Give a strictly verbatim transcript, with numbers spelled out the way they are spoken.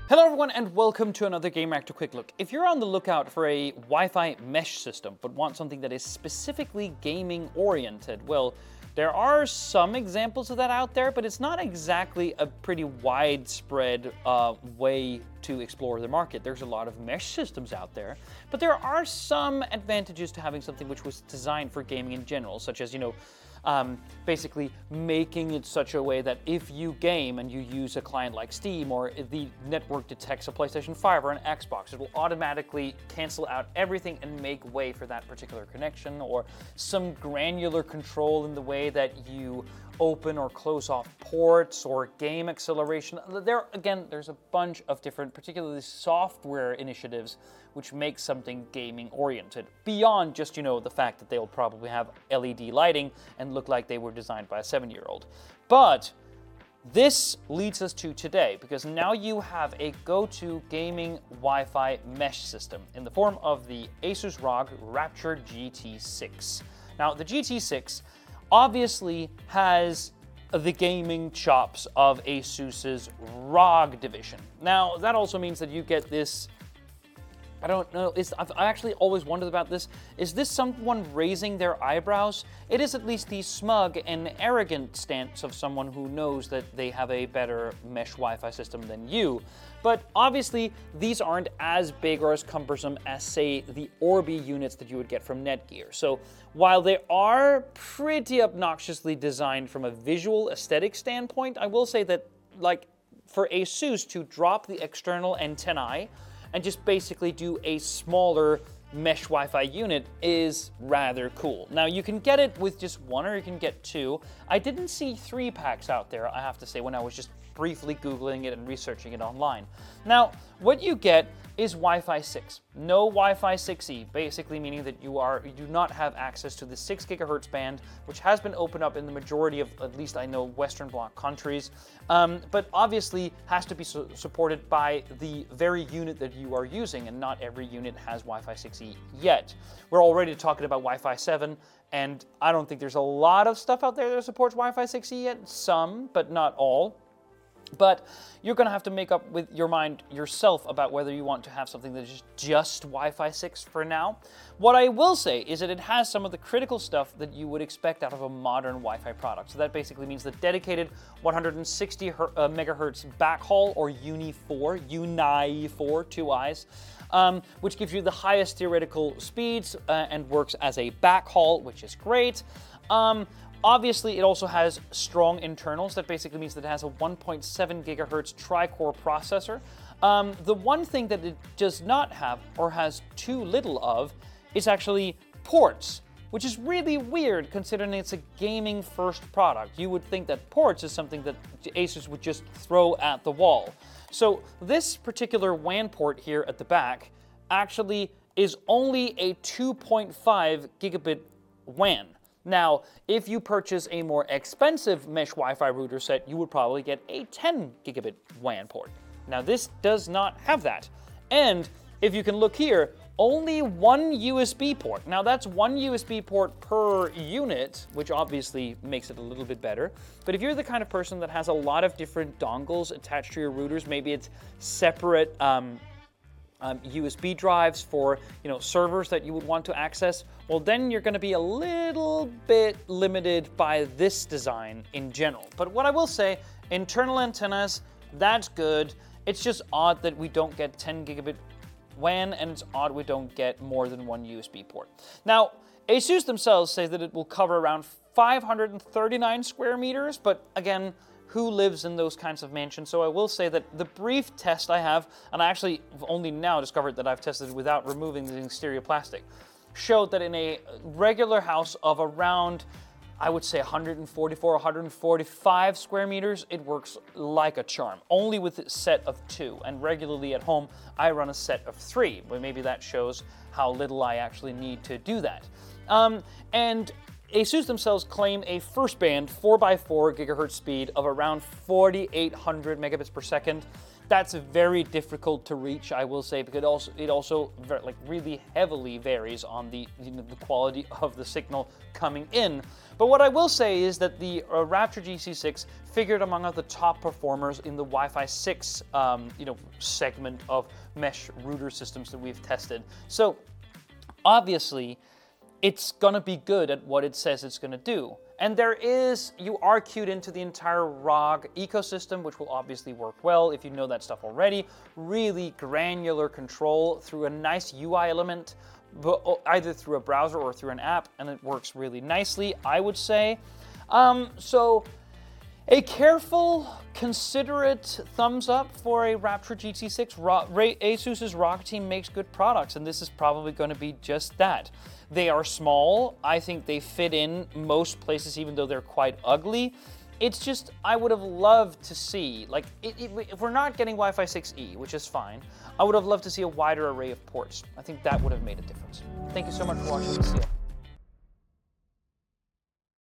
Hello everyone and welcome to another Gamereactor Quick Look. If you're on the lookout for a Wi-Fi mesh system but want something that is specifically gaming oriented, well, there are some examples of that out there, but it's not exactly a pretty widespread uh, way to explore the market. There's a lot of mesh systems out there, but there are some advantages to having something which was designed for gaming in general, such as, you know, Um, basically making it such a way that if you game and you use a client like Steam, or if the network detects a PlayStation five or an Xbox, it will automatically cancel out everything and make way for that particular connection, or some granular control in the way that you open or close off ports, or game acceleration. There, again, there's a bunch of different, particularly software initiatives, which make something gaming oriented, beyond just, you know, the fact that they'll probably have L E D lighting and look like they were designed by a seven-year-old. But this leads us to today, because now you have a go-to gaming Wi-Fi mesh system in the form of the Asus R O G Rapture G T six. Now, the G T six obviously has the gaming chops of Asus's R O G division. Now, that also means that you get this, I don't know, is, I've I actually always wondered about this. Is this someone raising their eyebrows? It is at least the smug and arrogant stance of someone who knows that they have a better mesh Wi-Fi system than you. But obviously, these aren't as big or as cumbersome as, say, the Orbi units that you would get from Netgear. So while they are pretty obnoxiously designed from a visual aesthetic standpoint, I will say that, like, for Asus to drop the external antennae and just basically do a smaller mesh Wi-Fi unit is rather cool. Now, you can get it with just one, or you can get two. I didn't see three packs out there, I have to say, when I was just briefly Googling it and researching it online. Now, what you get is Wi-Fi six. No Wi-Fi six E, basically meaning that you are you do not have access to the six gigahertz band, which has been opened up in the majority of, at least I know, Western Bloc countries, um, but obviously has to be su supported by the very unit that you are using, and not every unit has Wi-Fi six E yet. We're already talking about Wi-Fi seven, and I don't think there's a lot of stuff out there that supports Wi-Fi six E yet. Some, but not all. But you're going to have to make up with your mind yourself about whether you want to have something that is just Wi-Fi six for now. What I will say is that it has some of the critical stuff that you would expect out of a modern Wi-Fi product. So that basically means the dedicated one hundred sixty megahertz backhaul, or Uni four, Uni four, two eyes, um, which gives you the highest theoretical speeds uh, and works as a backhaul, which is great. Um, Obviously, it also has strong internals. That basically means that it has a one point seven gigahertz tri-core processor. Um, the one thing that it does not have, or has too little of, is actually ports, which is really weird considering it's a gaming-first product. You would think that ports is something that Asus would just throw at the wall. So this particular W A N port here at the back actually is only a two point five gigabit W A N. Now, if you purchase a more expensive mesh Wi-Fi router set, you would probably get a ten gigabit W A N port. Now, this does not have that. And if you can look here, only one U S B port. Now, that's one U S B port per unit, which obviously makes it a little bit better. But if you're the kind of person that has a lot of different dongles attached to your routers, maybe it's separate um, Um, U S B drives for, you know, servers that you would want to access, well, then you're going to be a little bit limited by this design in general. But what I will say, internal antennas, that's good. It's just odd that we don't get ten gigabit W A N, and it's odd we don't get more than one U S B port. Now, Asus themselves say that it will cover around five hundred thirty-nine square meters, but again, who lives in those kinds of mansions? So I will say that the brief test I have, and I actually only now discovered that I've tested without removing the exterior plastic, showed that in a regular house of around, I would say one hundred forty-four, one hundred forty-five square meters, it works like a charm, only with a set of two. And regularly at home, I run a set of three, but maybe that shows how little I actually need to do that. Um, and Asus themselves claim a first band four by four gigahertz speed of around forty-eight hundred megabits per second, That's very difficult to reach, I will say, because it also it also very, like really heavily varies on the you know, the quality of the signal coming in. But what I will say is that the uh, Raptor G C six figured among the top performers in the Wi-Fi six um, you know segment of mesh router systems that we've tested. So obviously, it's gonna be good at what it says it's gonna do. And there is, you are queued into the entire R O G ecosystem, which will obviously work well if you know that stuff already. Really granular control through a nice U I element, but either through a browser or through an app, and it works really nicely, I would say. Um, so, a careful, considerate thumbs up for a Raptor G T six. ASUS's R O G team makes good products, and this is probably going to be just that. They are small. I think they fit in most places, even though they're quite ugly. It's just, I would have loved to see, like, it, it, if we're not getting Wi-Fi six E, which is fine, I would have loved to see a wider array of ports. I think that would have made a difference. Thank you so much for watching. See you.